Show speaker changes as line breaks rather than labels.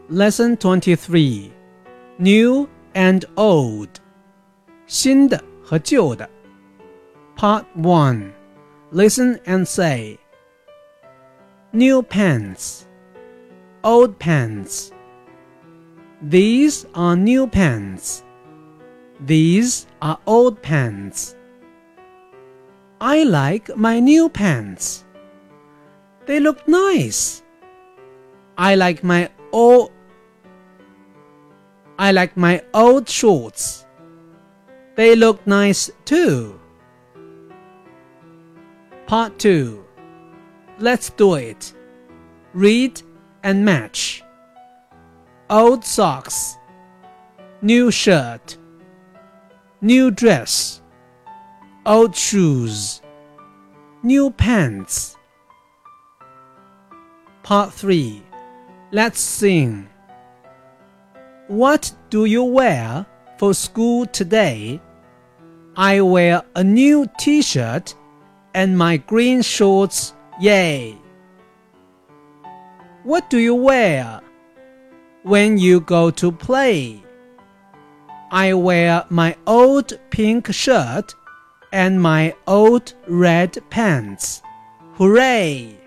Lesson 23 New and Old 新的和旧的 Part 1 Listen and say New pants Old pants These are new pants These are old pants I like my new pants They look nice I like my old shorts. They look nice too. Part 2. Let's do it. Read and match. Old socks. New shirt. New dress. Old shoes. New pants. Part 3. Let's sing. What do you wear for school today? I wear a new t-shirt and my green shorts, yay! What do you wear when you go to play? I wear my old pink shirt and my old red pants. Hooray!